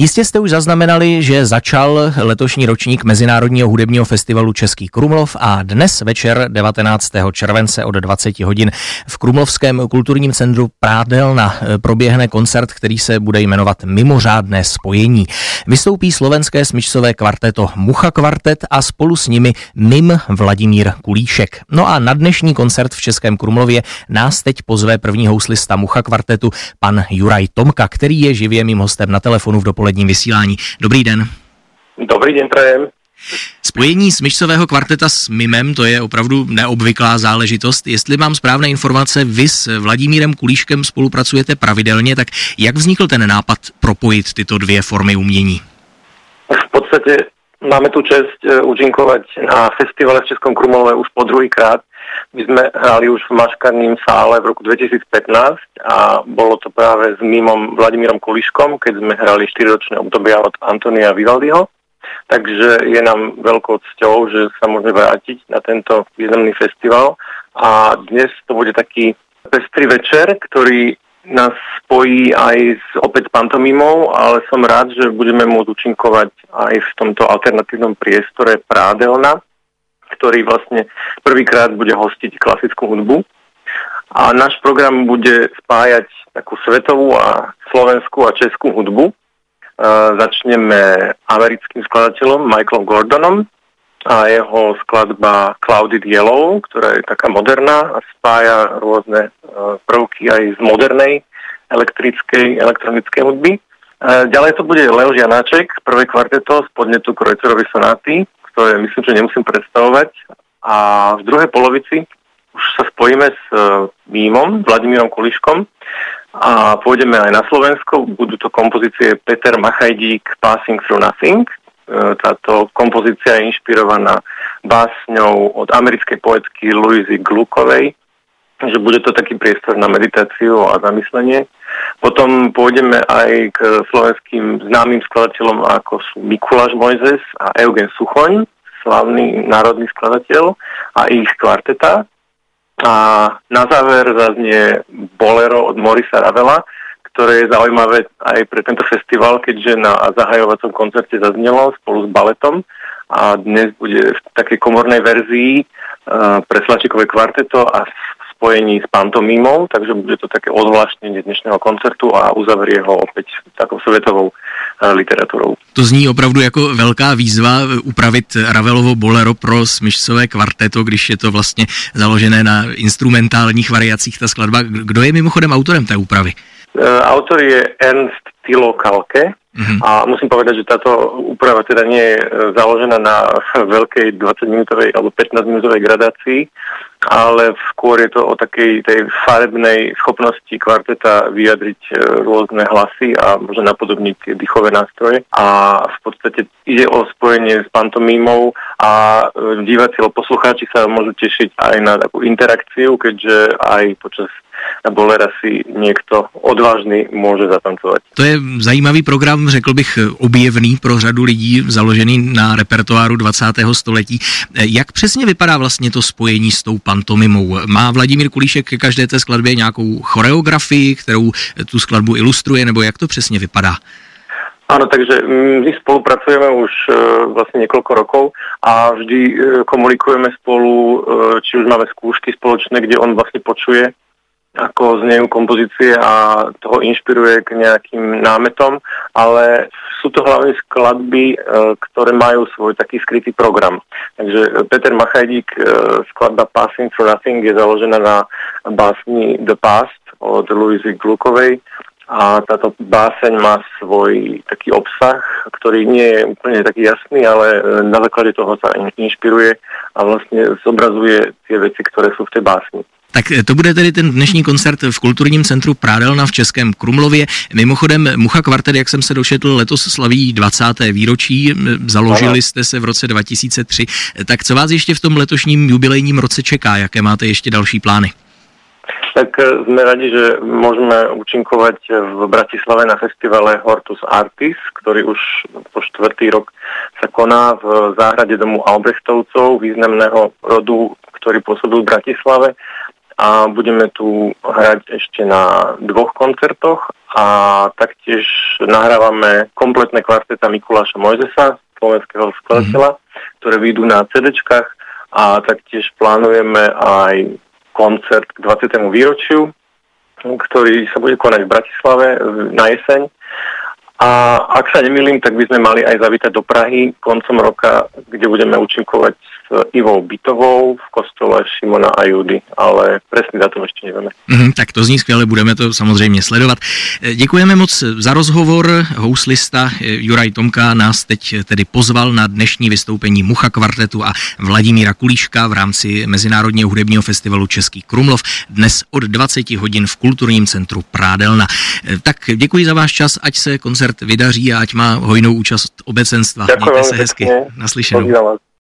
Jistě jste už zaznamenali, že začal letošní ročník Mezinárodního hudebního festivalu Český Krumlov a dnes večer 19. července od 20 hodin v Krumlovském kulturním centru Prádelna proběhne koncert, který se bude jmenovat Mimořádné spojení. Vystoupí slovenské smyčcové kvarteto Mucha kvartet a spolu s nimi mim Vladimír Kulíšek. No a na dnešní koncert v Českém Krumlově nás teď pozve první houslista Mucha kvartetu pan Juraj Tomka, který je živě mým hostem na telefonu v dopoledním vysílání. Dobrý den. Dobrý den, prajem. Spojení smyčcového kvarteta s mimem, to je opravdu neobvyklá záležitost. Jestli mám správné informace, vy s Vladimírem Kulíškem spolupracujete pravidelně, tak jak vznikl ten nápad propojit tyto dvě formy umění? V podstatě máme tu čest účinkovať na festivale v Českom Krumlove už po druhýkrát. My sme hrali už v Maškarním sále v roku 2015 a bolo to práve s mimom Vladimírom Kulíškom, keď sme hrali 4-ročné obdobia od Antonia Vivaldiho. Takže je nám veľkou cťou, že sa môžeme vrátiť na tento významný festival. A dnes to bude taký pestrý večer, ktorý nás spojí aj opäť s pantomimou, ale som rád, že budeme môcť účinkovať aj v tomto alternatívnom priestore Prádelna, ktorý vlastne prvýkrát bude hostiť klasickú hudbu. A náš program bude spájať takú svetovú a slovenskú a českú hudbu. Začneme americkým skladateľom Michaelom Gordonom a jeho skladba Clouded Yellow, ktorá je taká moderná a spája rôzne prvky aj z modernej elektronickej hudby. Ďalej to bude Leoš Janáček, prvé kvarteto z podnetu Kreutzerovej sonáty, ktoré myslím, že nemusím predstavovať. A v druhej polovici už sa spojíme s mimom Vladimírom Kulíškom a pôjdeme aj na Slovensko. Budú to kompozície Peter Machajdík Passing Through Nothing. Táto kompozícia je inšpirovaná básňou od americkej poetky Louisy Gluckovej, že bude to taký priestor na meditáciu a zamyslenie. Potom pôjdeme aj k slovenským známym skladateľom, ako sú Mikuláš Mojzes a Eugen Suchoň, slavný národný skladateľ a ich kvarteta. A na záver zaznie bolero od Maurice Ravela, ktoré je zaujímavé aj pre tento festival, keďže na zahajovacom koncerte zaznelo spolu s baletom a dnes bude v takej komornej verzii pre slačikové kvarteto a v spojení s pantomimou, takže bude to také odvláštnenie dnešného koncertu a uzavrie ho opäť takou svetovou literatúrou. To zní opravdu jako velká výzva upravit Ravelovo bolero pro smyčcové kvarteto, když je to vlastně založené na instrumentálních variacích ta skladba. Kdo je mimochodem autorem té úpravy? Autor je Ernst Thilo Kalke a musím povedať, že táto úprava teda nie je založená na veľkej 20-minútovej alebo 15-minútovej gradácii, ale skôr je to o takej tej farebnej schopnosti kvarteta vyjadriť rôzne hlasy a môže napodobniť tie dýchové nástroje. A v podstate ide o spojenie s pantomímou a diváci alebo poslucháči sa môžu tešiť aj na takú interakciu, keďže aj počas bolera si někdo odvážný může zatancovat. To je zajímavý program, řekl bych objevný pro řadu lidí, založený na repertoáru 20. století. Jak přesně vypadá vlastně to spojení s tou pantomimou? Má Vladimír Kulíšek ke každé té skladbě nějakou choreografii, kterou tu skladbu ilustruje, nebo jak to přesně vypadá? Áno, takže my spolupracujeme už vlastne niekoľko rokov a vždy komunikujeme spolu, či už máme skúšky spoločné, kde on vlastne počuje, ako znejú kompozície a toho inšpiruje k nejakým námetom, ale sú to hlavne skladby, ktoré majú svoj taký skrytý program. Takže Peter Machajdík, skladba Passing Through Nothing je založená na básni The Past od Louisy Gluckovej a táto báseň má svoj taký obsah, ktorý nie je úplne taký jasný, ale na základe toho sa inšpiruje a vlastne zobrazuje tie veci, ktoré sú v tej básni. Tak to bude tedy ten dnešní koncert v kulturním centru Prádelna v Českém Krumlově. Mimochodem Mucha kvartet, jak jsem se dočetl, letos slaví 20. výročí, založili jste se v roce 2003. Tak co vás ještě v tom letošním jubilejním roce čeká? Jaké máte ještě další plány? Tak sme radi, že môžeme účinkovať v Bratislave na festivale Hortus Artis, ktorý už po 4. rok sa koná v záhrade domu Albrechtovcov, významného rodu, ktorý pôsobil v Bratislave. a budeme tu hrať ešte na 2 koncertoch a taktiež nahrávame kompletné kvarteta Mikuláša Mojzesa, slovenského skladateľa, ktoré vyjdú na CD-čkách a taktiež plánujeme aj koncert k 20. výročiu, ktorý sa bude konať v Bratislave na jeseň. A ak sa nemýlim, tak by sme mali aj zavítať do Prahy koncom roka, kde budeme účinkovať s Ivou Bytovou v kostole Šimona a Judy, ale presný datum ještě nevíme. Tak to zní skvěle, budeme to samozřejmě sledovat. Děkujeme moc za rozhovor. Houslista Juraj Tomka nás teď tedy pozval na dnešní vystoupení Mucha kvartetu a Vladimíra Kulíška v rámci Mezinárodního hudebního festivalu Český Krumlov dnes od 20 hodin v Kulturním centru Prádelna. Tak děkuji za váš čas, ať se koncert vydaří a ať má hojnou účast obecenstva. Děkuji. Mějte se hezky. Naslyšenou.